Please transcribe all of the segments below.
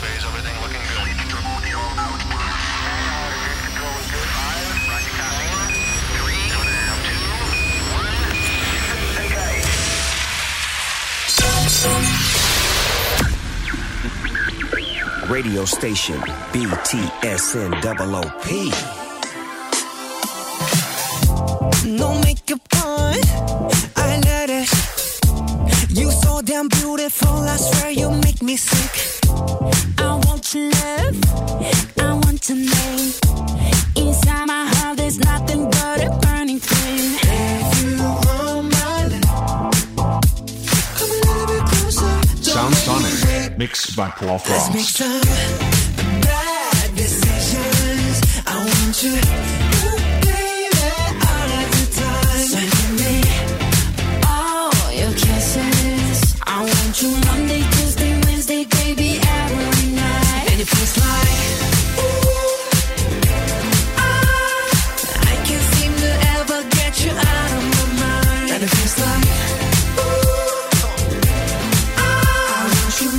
phase, everything looking good. Radio station BTSN OOP. No makeup on, I let it. You so damn beautiful, I swear you make me sick. I want to love, I want to name. Inside my heart there's nothing but a burning flame. If you want my love, come a little bit closer. Sound Sonic, mixed by Paul Let's Frost. make some bad decisions. I want you. Monday, Tuesday, Wednesday, baby, every night. And it feels like, ooh, I can't seem to ever get you out of my mind. And it feels like, ooh, I want you,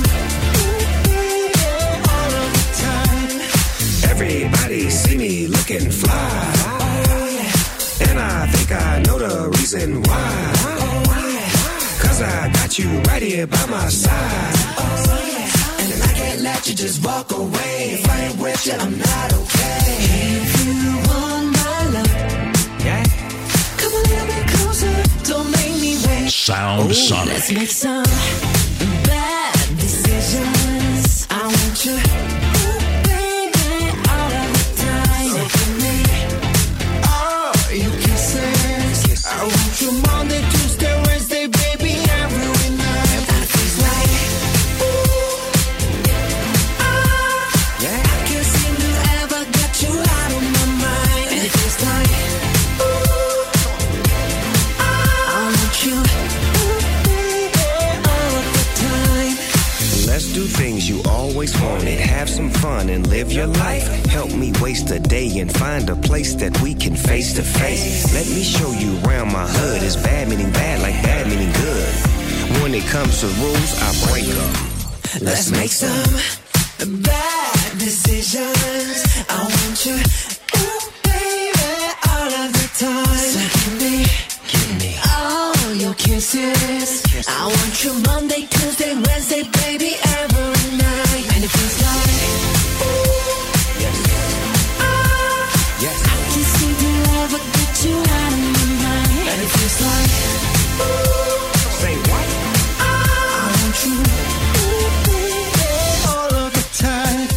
ooh, all of the time. Everybody see me looking fly. Oh, yeah. And I think I know the reason why. Cause I got you right here by my side. Oh, yeah. And I can't let you just walk away. If I ain't with you, I'm not okay. If you want my love, Yeah. come a little bit closer. Don't make me wait. Sound Sonic. Let's make some bad decisions. I want you, ooh, baby, all of the time. So give me all your kisses. I want you Monday, Tuesday, Wednesday, baby, every night. And it feels like, ooh, Yeah. I can't seem to ever get you out of my mind. And it feels like, ooh, I want you, ooh, baby, all of the time. Let's do things you always wanted. Have some fun and live your life. Help me waste a day and find a place that we can face to face. Let me show you around my hood. It's bad meaning bad like bad meaning good. When it comes to rules, I break them. Let's make some bad decisions. I want you, ooh, baby, all of the time. So give me all your kisses. I want you Monday, Tuesday, Wednesday, baby, every night. And it feels like, ooh, Yes. I can't seem to ever get you out of my mind. And it feels like, ooh, Say what? I want you, ooh, baby, all of the time.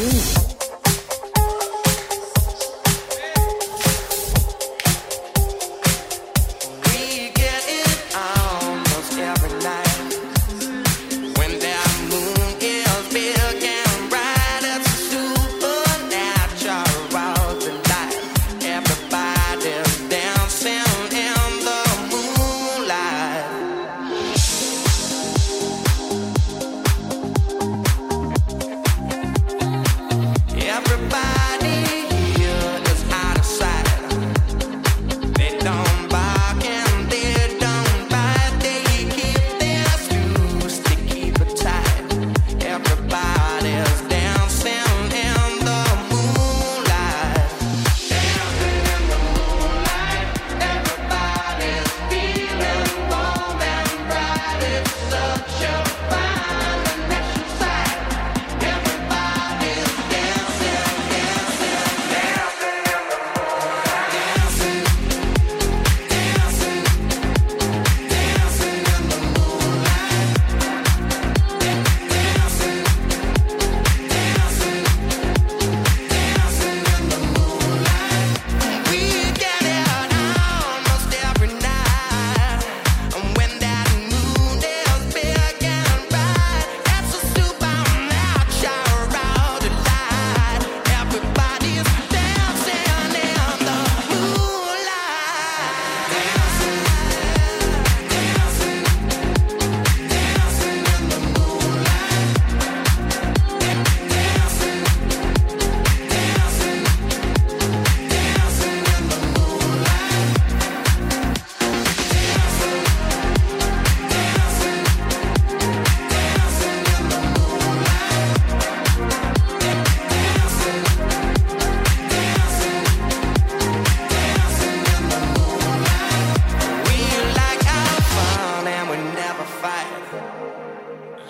We get it almost every night when that moon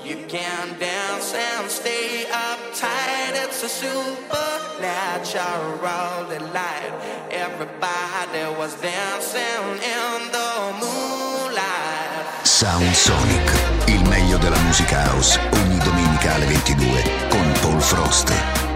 You can dance and stay uptight. It's a supernatural delight. Everybody was dancing in the moonlight. Sound Sonic, il meglio della musica house, ogni domenica alle 22 con Paul Frost.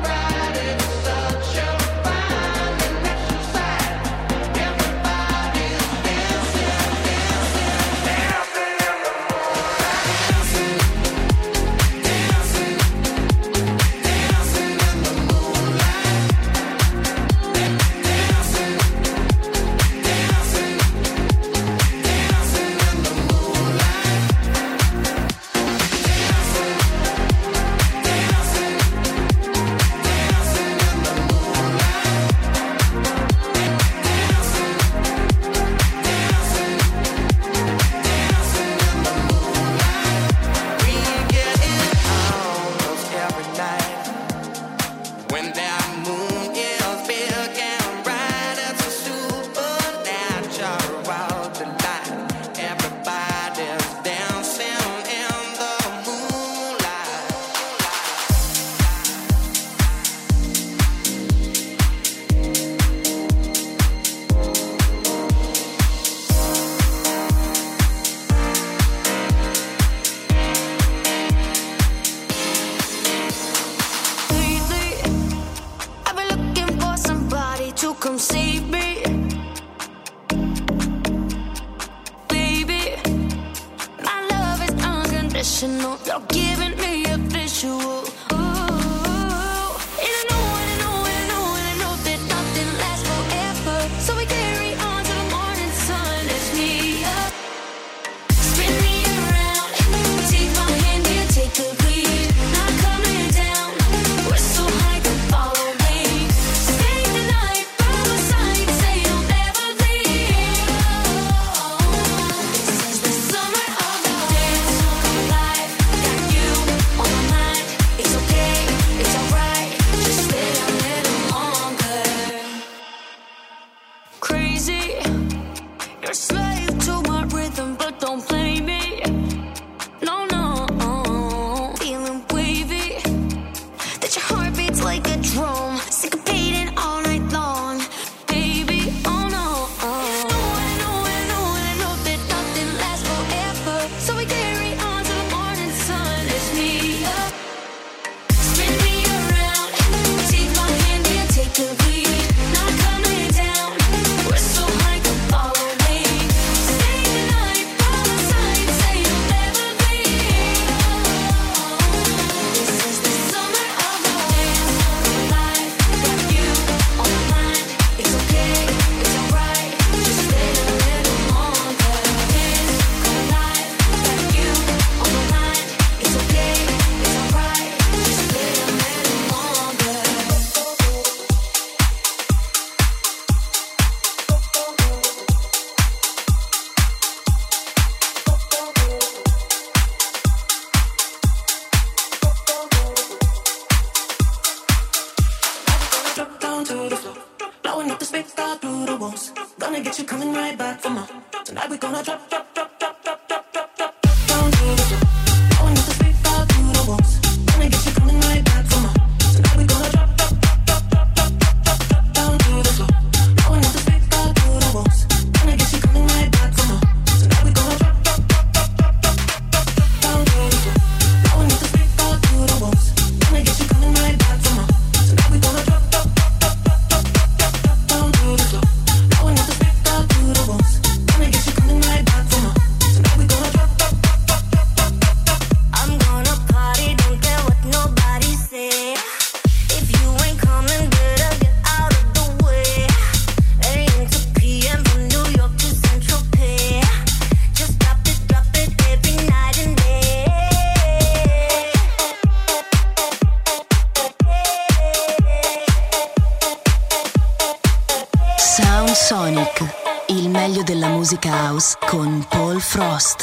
Sonic, il meglio della musica house con Paul Frost.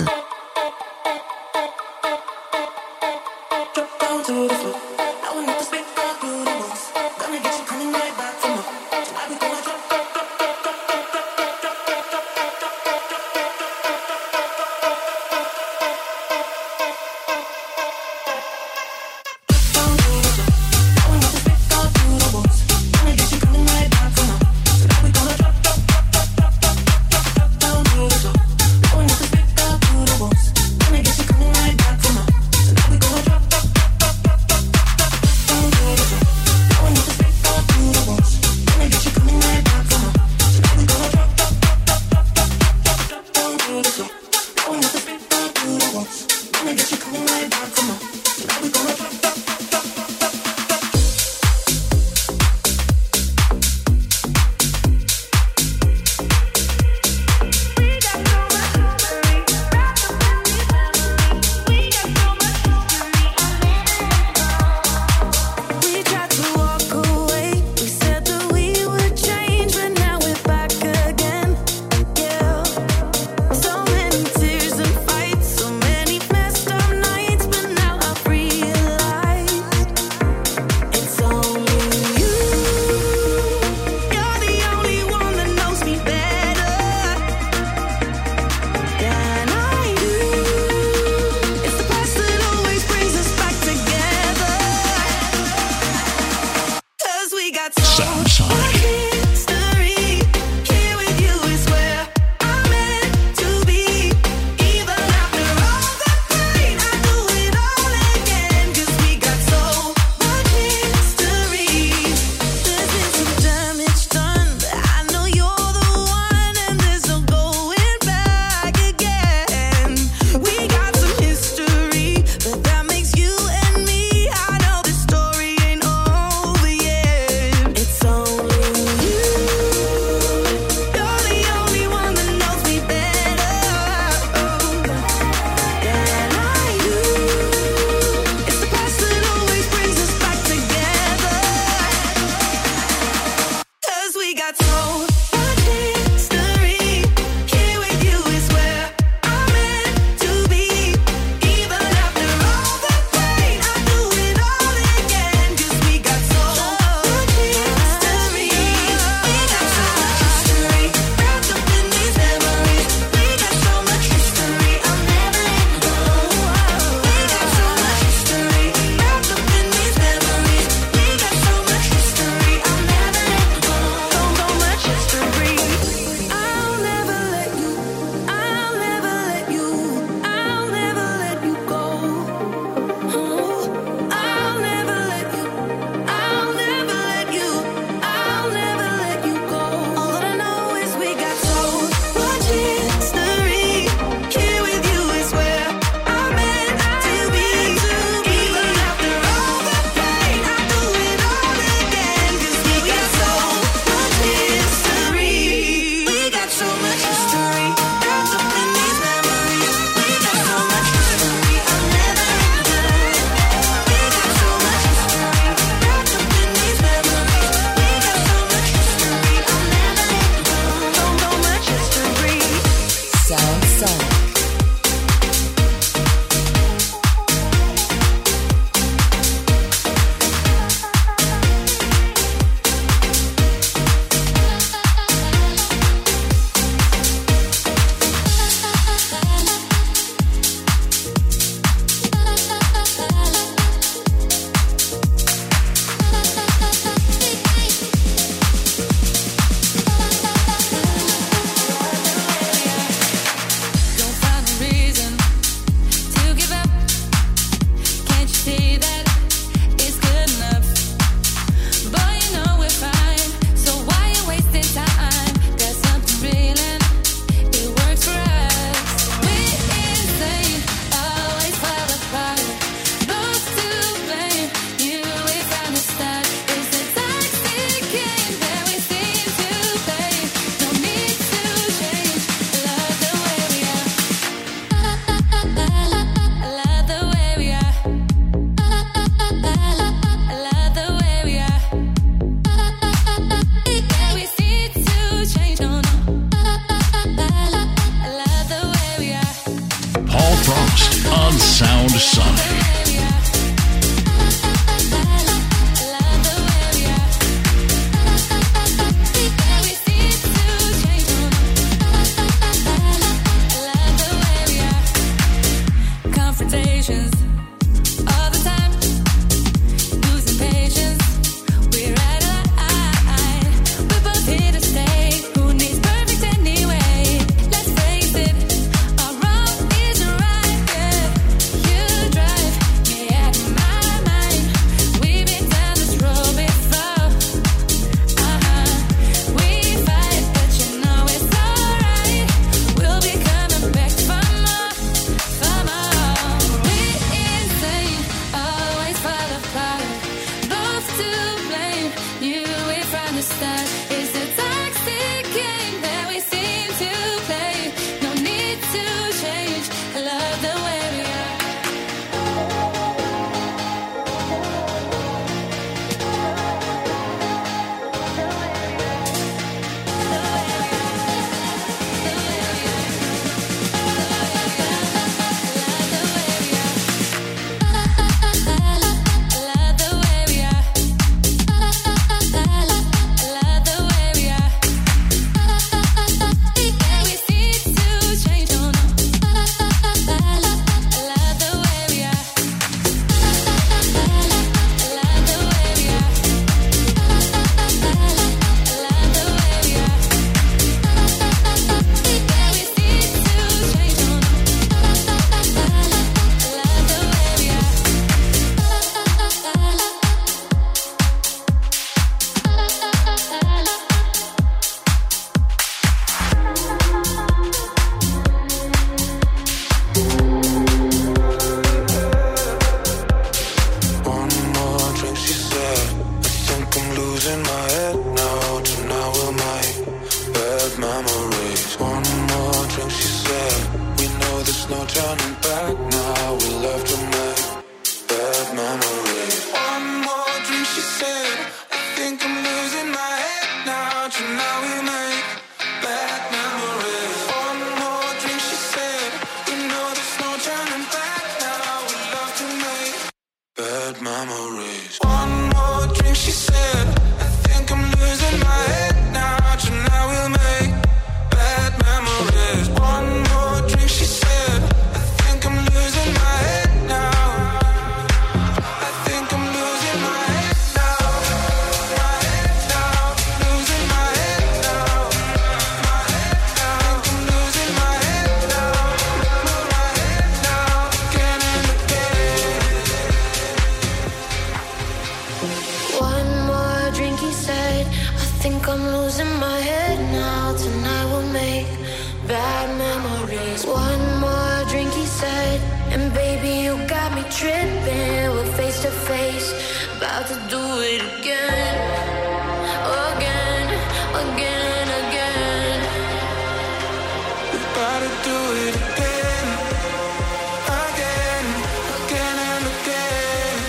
think I'm losing my head now. Tonight we'll make bad memories. One more drink, he said, and baby, you got me tripping. We're face to face, about to do it again. Again, again, again. We gotta do it again. Again, again and again.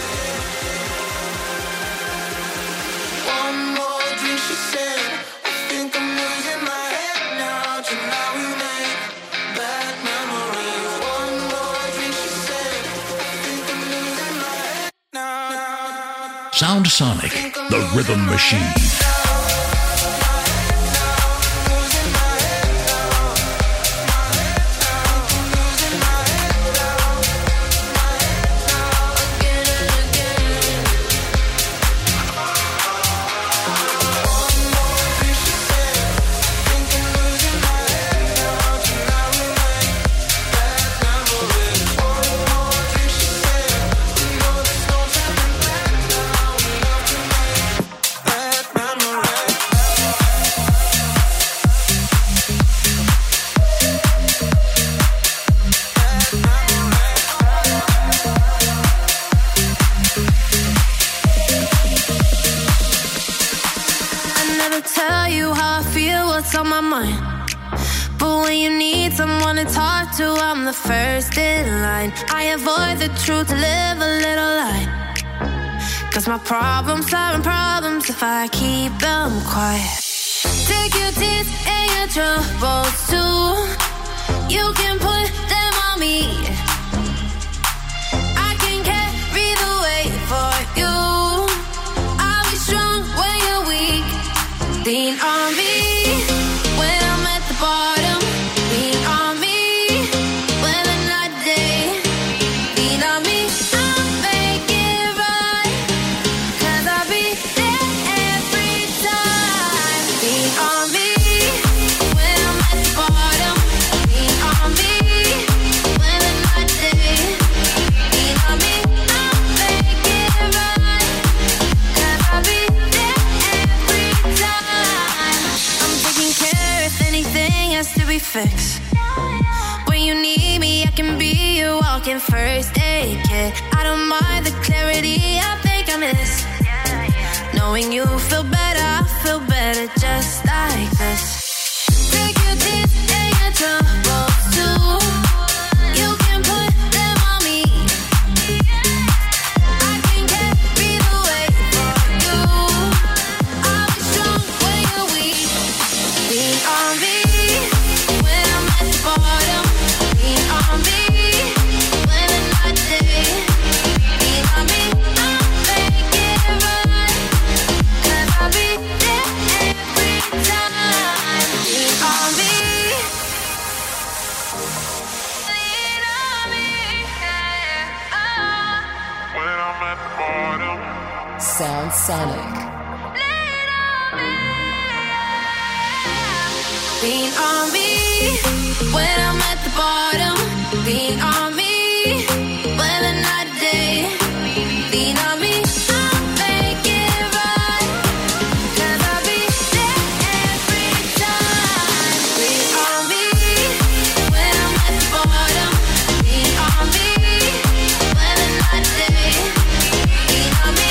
One more drink, she said, I think I'm losing my head now. Tonight we make bad memories. One more drink, she said, I think I'm losing my head now. Sound Sonic, the rhythm machine. I'm the first in line. I avoid the truth to live a little lie. 'Cause my problems aren't problems if I keep them quiet. Take your tears and your troubles too. You can put them on me. I can carry the weight for you. I'll be strong when you're weak. Lean on me when I'm at the bottom. Lean on me. Fix. When you need me, I can be your walking first aid kit. I don't mind the clarity I think I miss. Knowing you feel better, I feel better just like this. Take your tears and your troubles too. You can put them on me. I can carry the weight for you. I'll be strong when you're weak. Lean on me. Sound Sonic. Lean on me when I'm at the bottom. Lean on me when the night day. Lean on me, I'll make it right. 'Cause I'll be there every time. Lean on me when I'm at the bottom. Lean on me when the night day. Lean on me.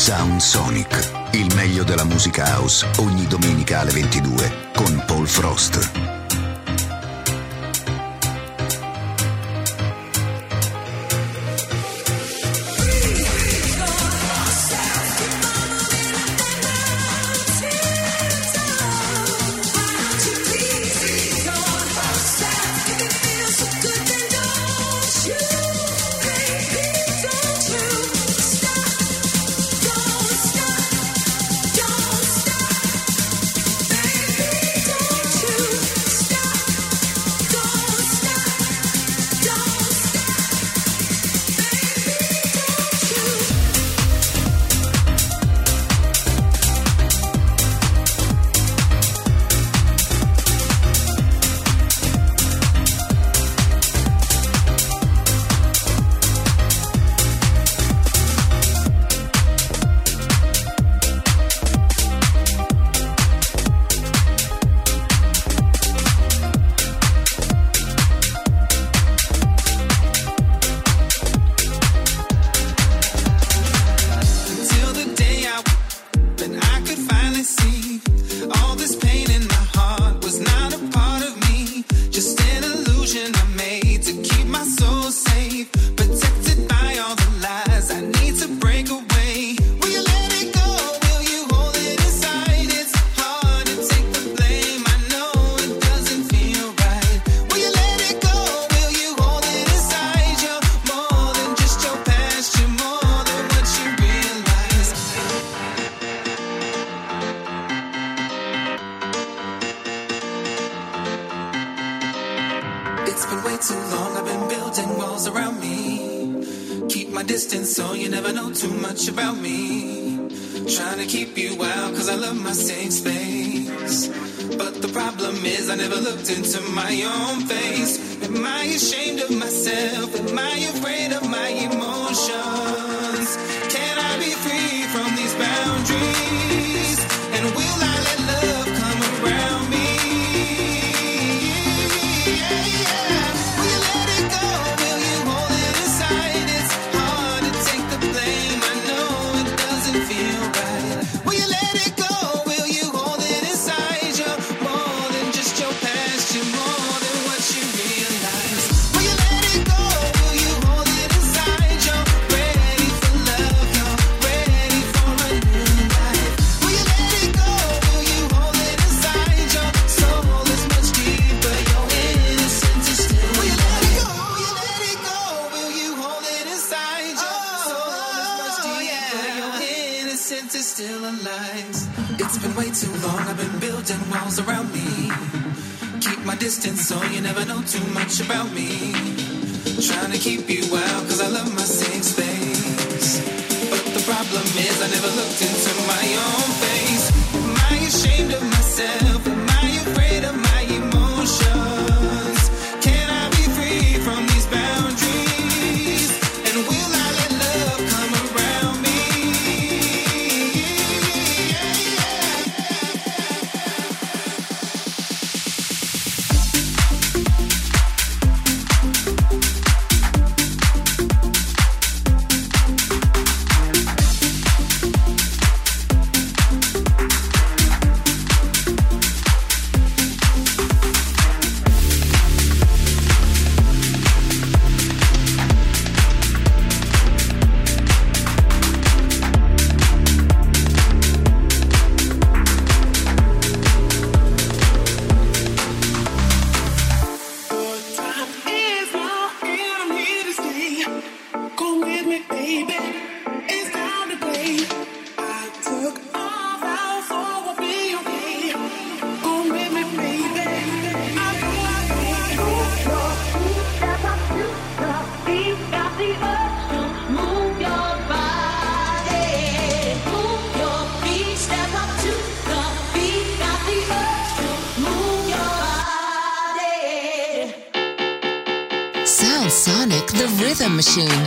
Sound Sonic, il meglio della musica house, ogni domenica alle 22 con Paul Frost. Into my own face. Am I ashamed of myself? Am I afraid of my emotions? Can I be free from these boundaries? And will I let love come around me? Yeah, yeah. Will you let it go? Will you hold it inside? It's hard to take the blame. I know it doesn't feel right. Will you let it go? Will you hold it inside? You're more than just your past. You're more than what you realize. Will you let it go? Will you hold it inside? You're ready for love. You're ready for a new life. Will you let it go? Will you hold it inside? Your soul is much deeper. Your innocence is still. Will you let it go? Will you let it go? Will you hold it inside? Your soul is much deeper. Your innocence is still alive. It's been way too long. I've been building walls around me. Keep my distance so you never know too much about me. Trying to keep you out cause I love my safe space. But the problem is I never looked into my own face. Am I ashamed of myself? Am I afraid of my emotions? Can I be free from these boundaries? And will I let love come around me? Yeah, yeah. Sonic, the Rhythm Machine.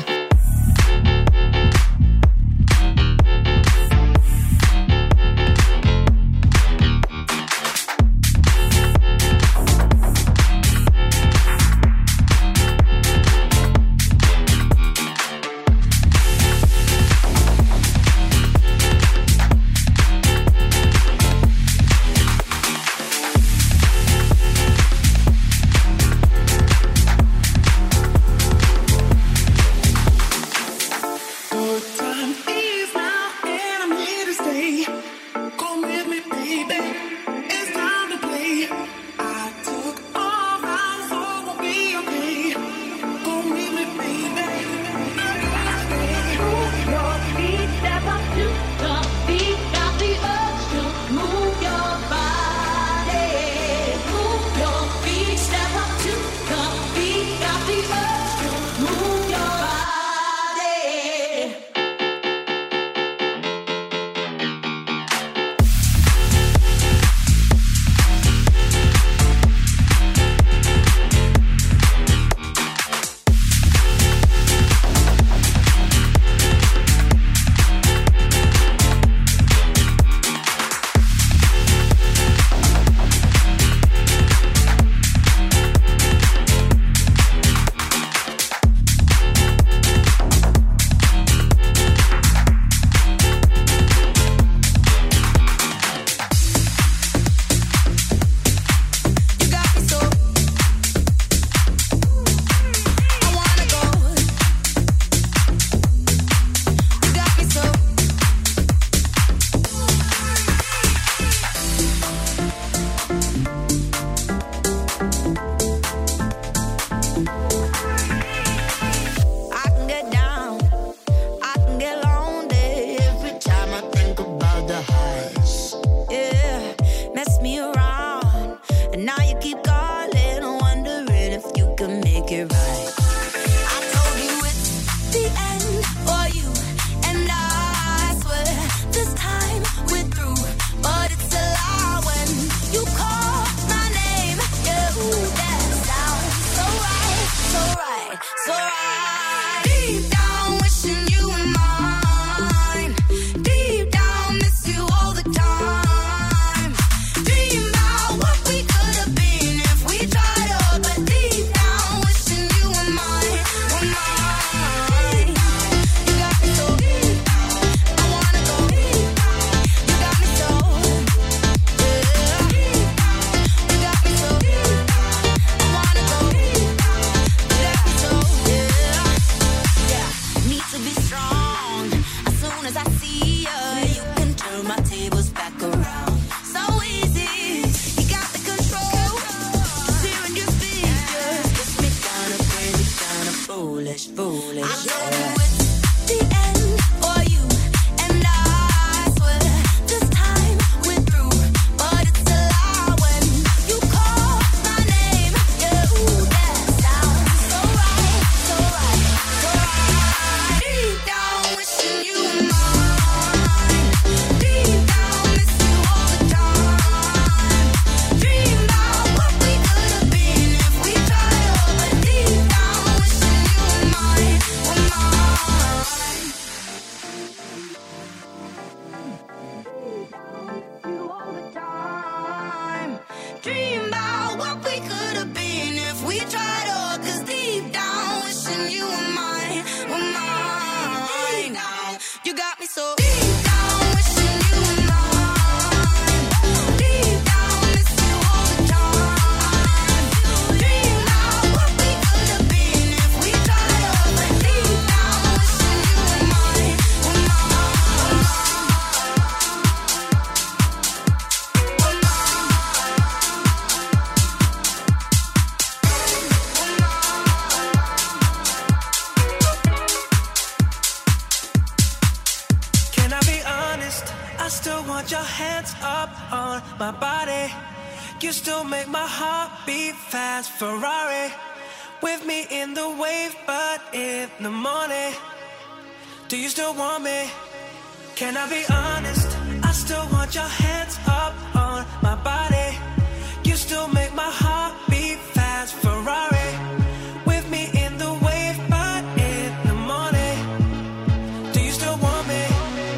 I still want your hands up on my body. You still make my heart beat fast. Ferrari with me in the wave, but in the morning. Do you still want me? Can I be honest? I still want your hands up on my body. You still make my heart beat fast. Ferrari with me in the wave, but in the morning. Do you still want me?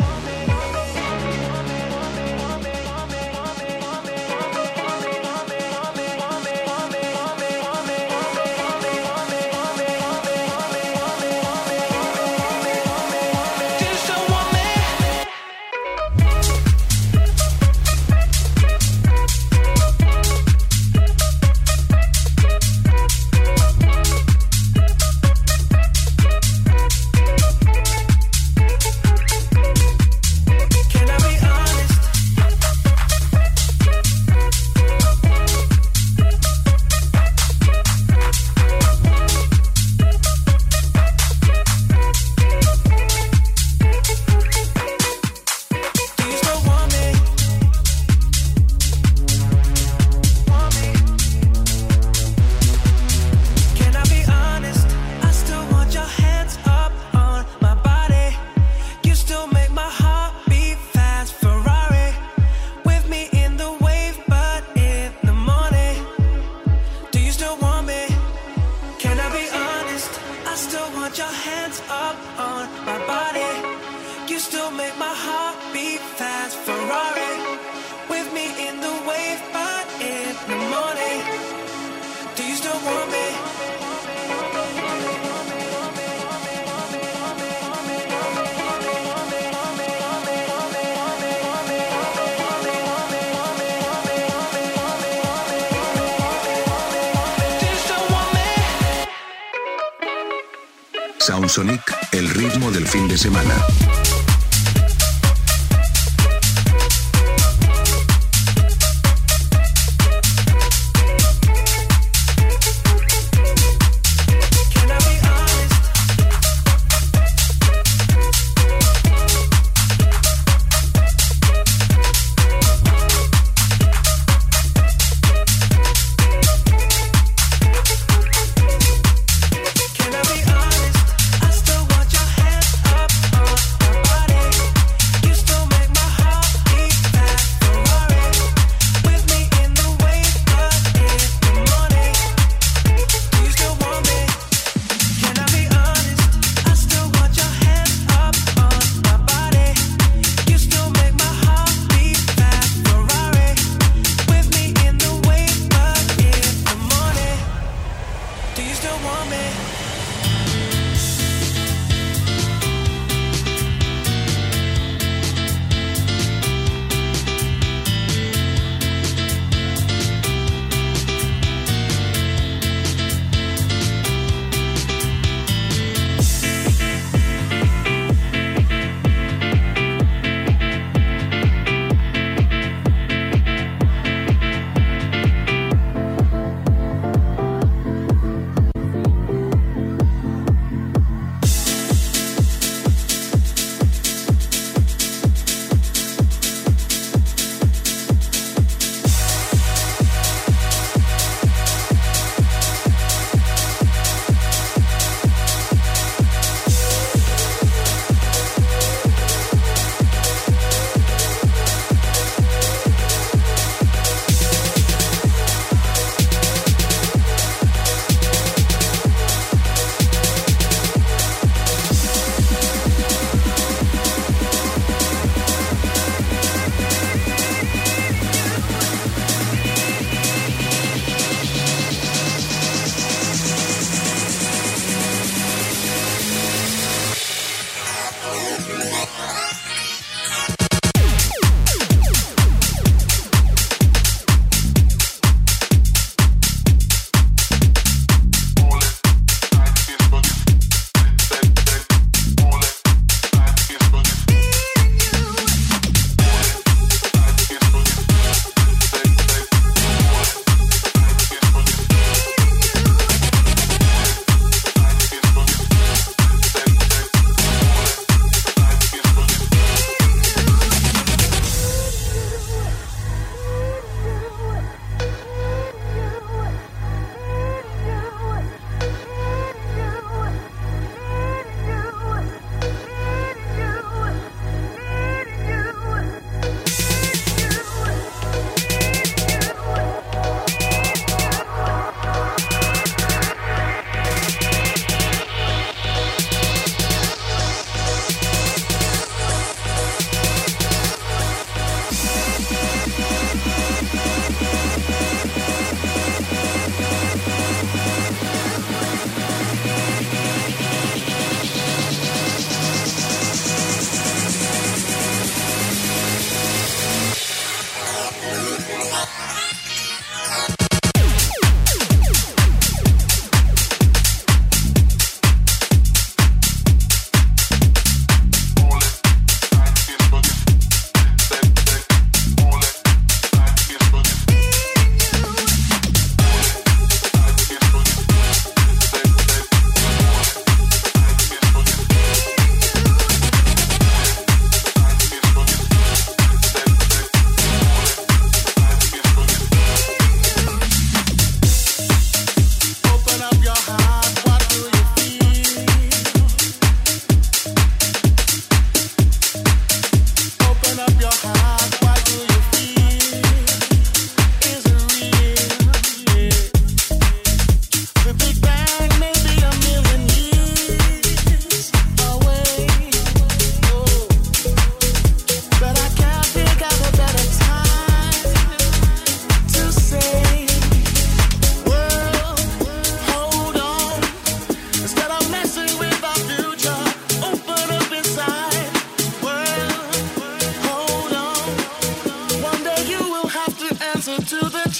Soundsonic, el ritmo del fin de semana. I still want your hands up on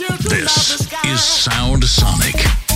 This is Sound Sonic.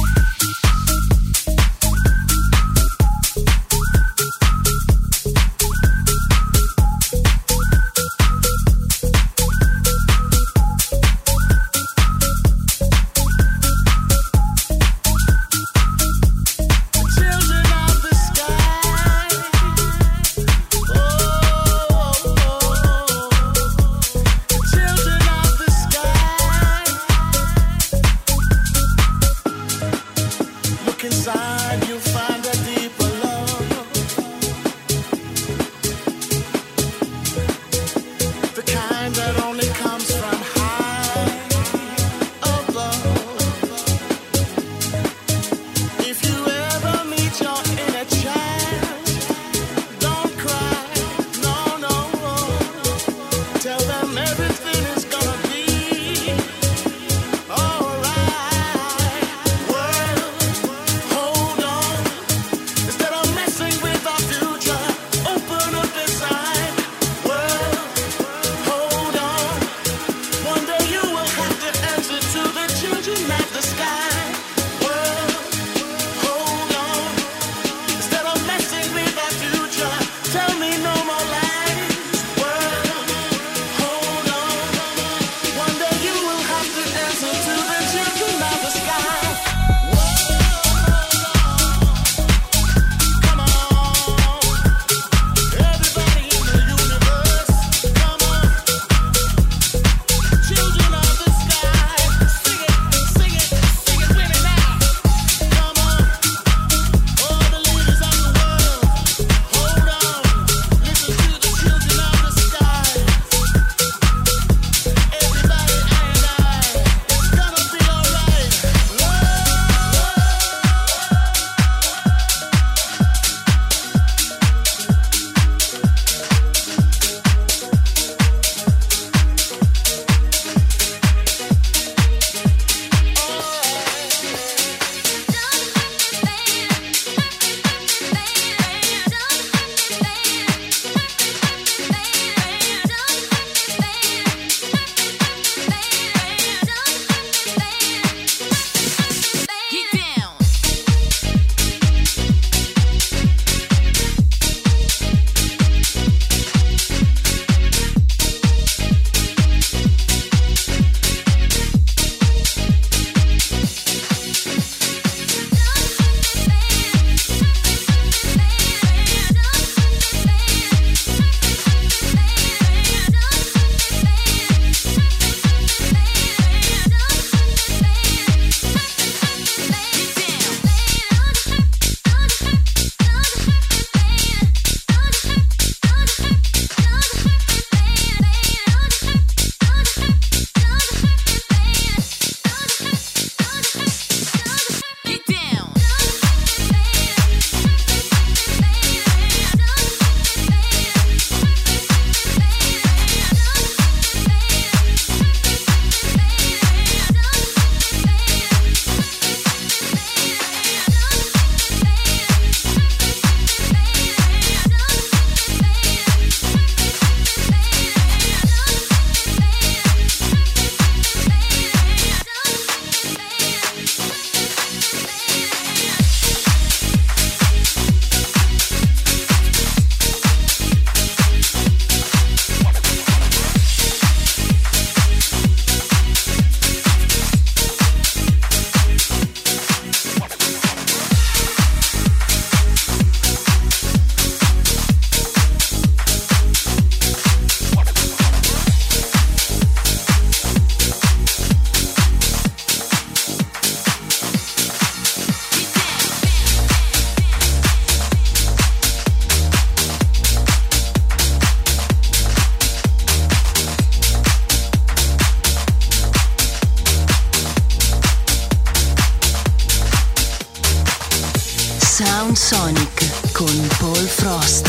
Sound Sonic con Paul Frost.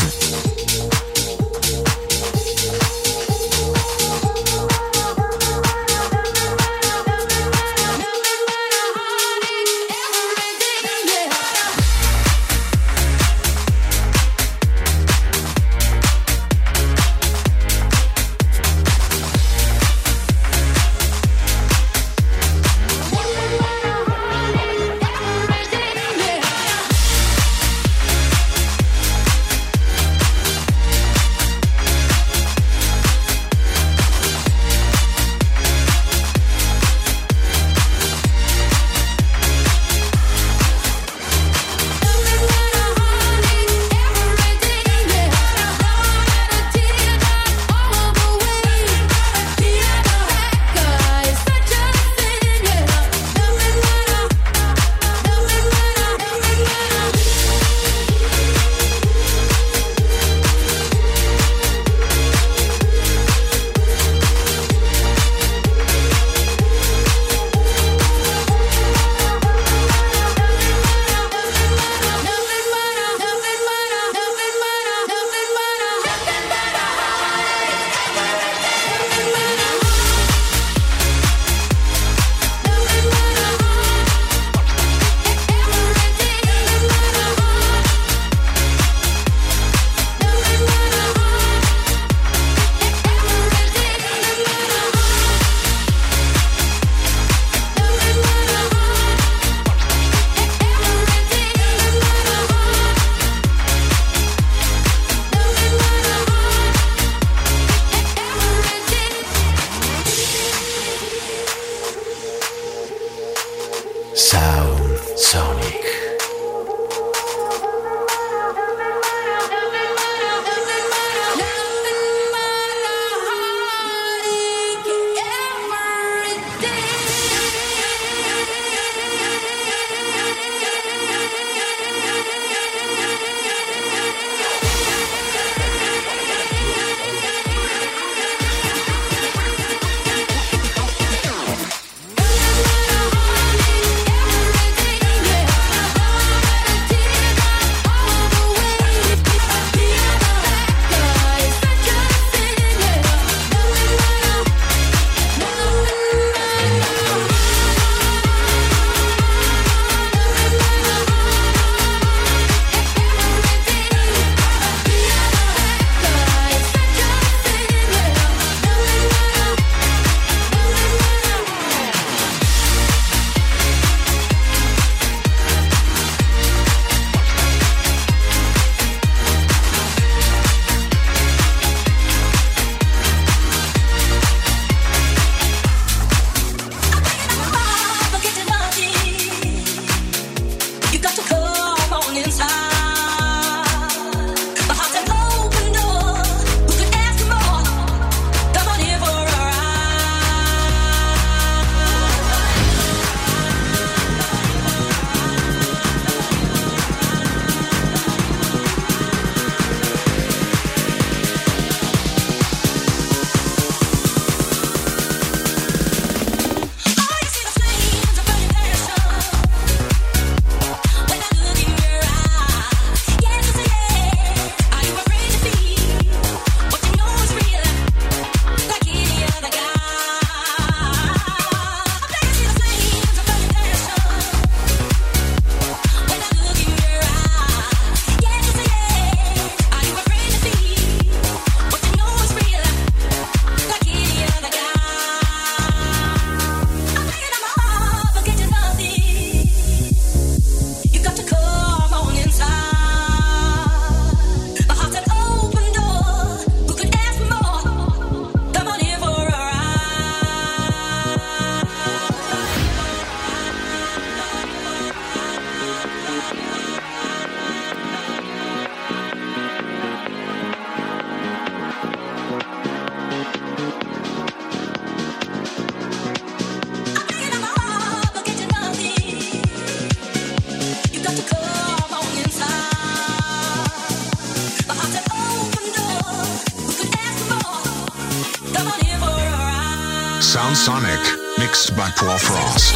Sound Sonic, mixed by Paul Frost.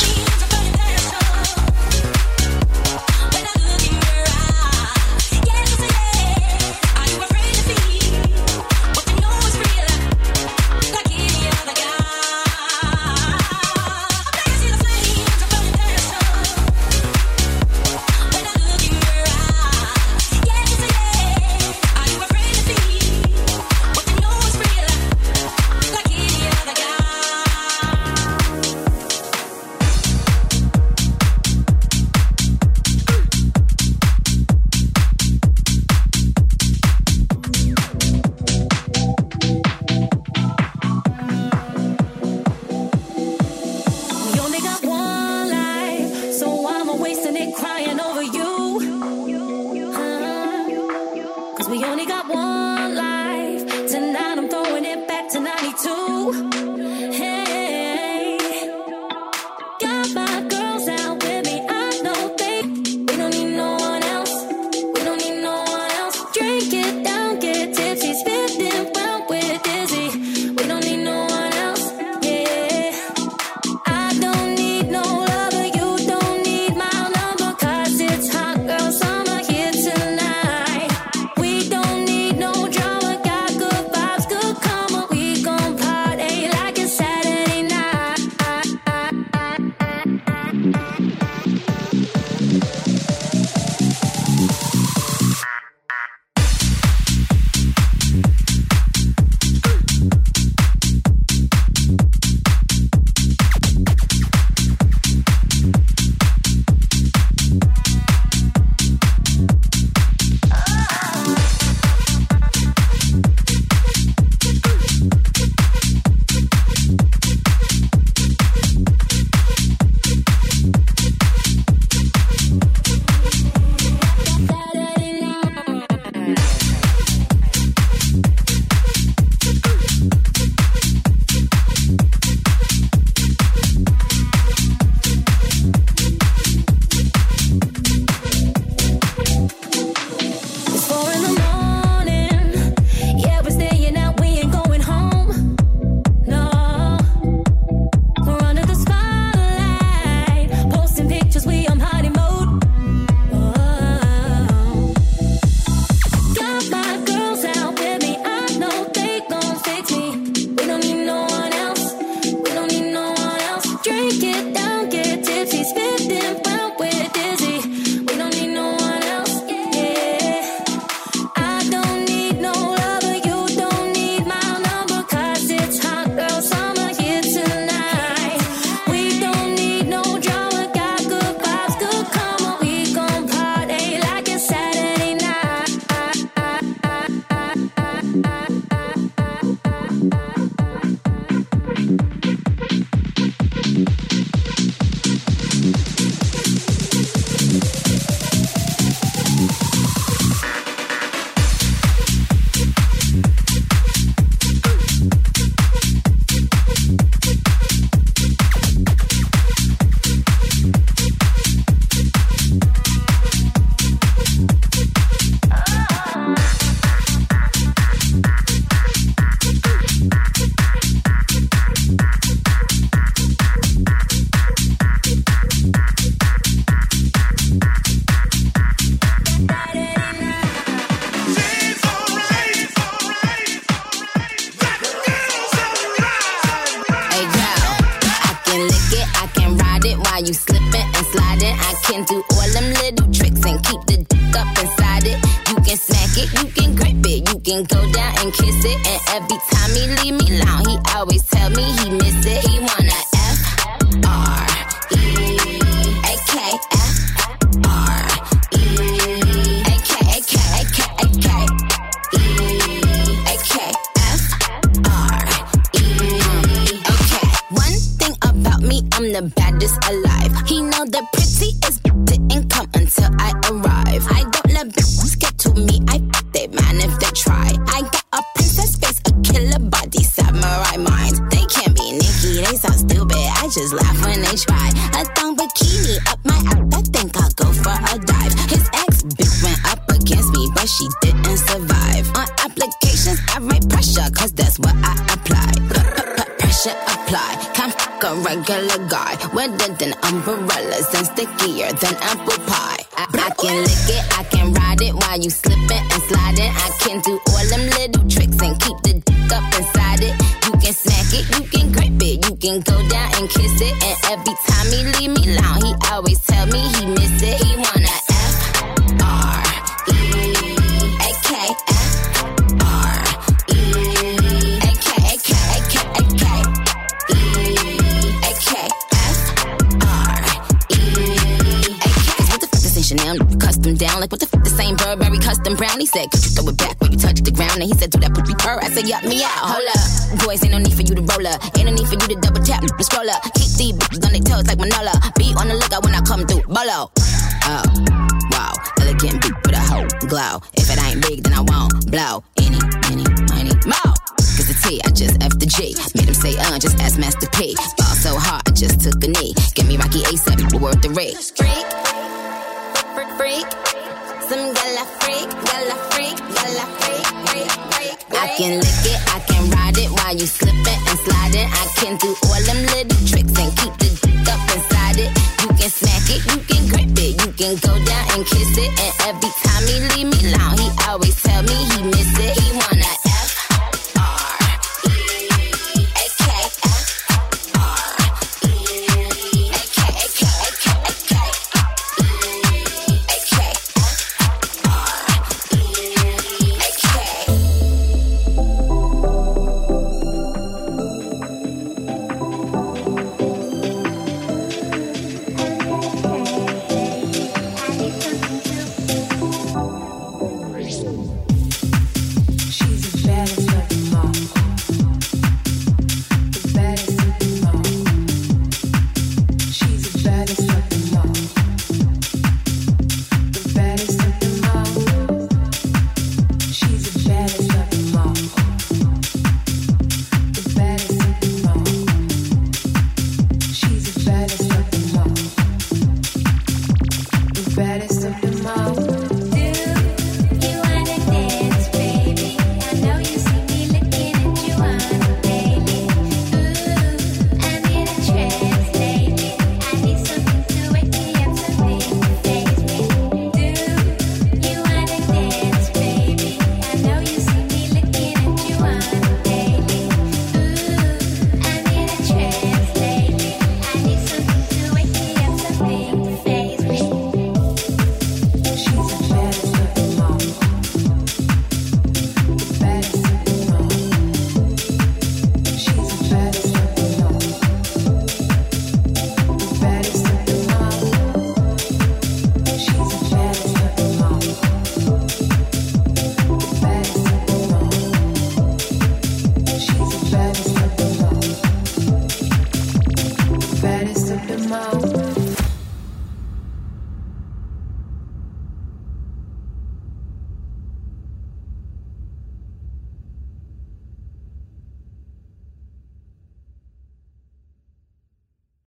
Just laugh when they try. A thong bikini up my app, I think I'll go for a dive. His ex bitch went up against me, but she didn't survive. On applications, I write pressure, cause that's what I apply. Pressure apply. regular guy, wetter than umbrellas and stickier than apple pie. I can lick it, I can ride it while you slipping and sliding. I can do all them little tricks and keep the dick up inside it. You can smack it, you can grip it, you can go down and kiss it. And every time he leave me alone, he always tell me he miss it. He wanna Chanel, custom down, like what the f*** the same Burberry custom brown. He said, could you throw it back when you touch the ground? And he said, do that poopy purr. I said, yup me out, hold up. Boys, ain't no need for you to roll up. Ain't no need for you to double tap, the scroll up. Keep these bitches on their toes like Manola. Be on the lookout when I come through, bolo. Oh, wow, elegant beat with a whole glow. If it ain't big, then I won't blow. Any, more. Cause the T, I just F the G. Made him say, just ask Master P. Ball so hard, I just took a knee. Give me Rocky A$AP, we're worth the rate. Freak, some gala freak, gala freak, gala freak. I can lick it, I can ride it while you slipping and sliding. I can do all them little tricks and keep the dick up inside it. You can smack it, you can grip it, you can go down and kiss it. And every time he leave me alone, he always tell me he miss it. He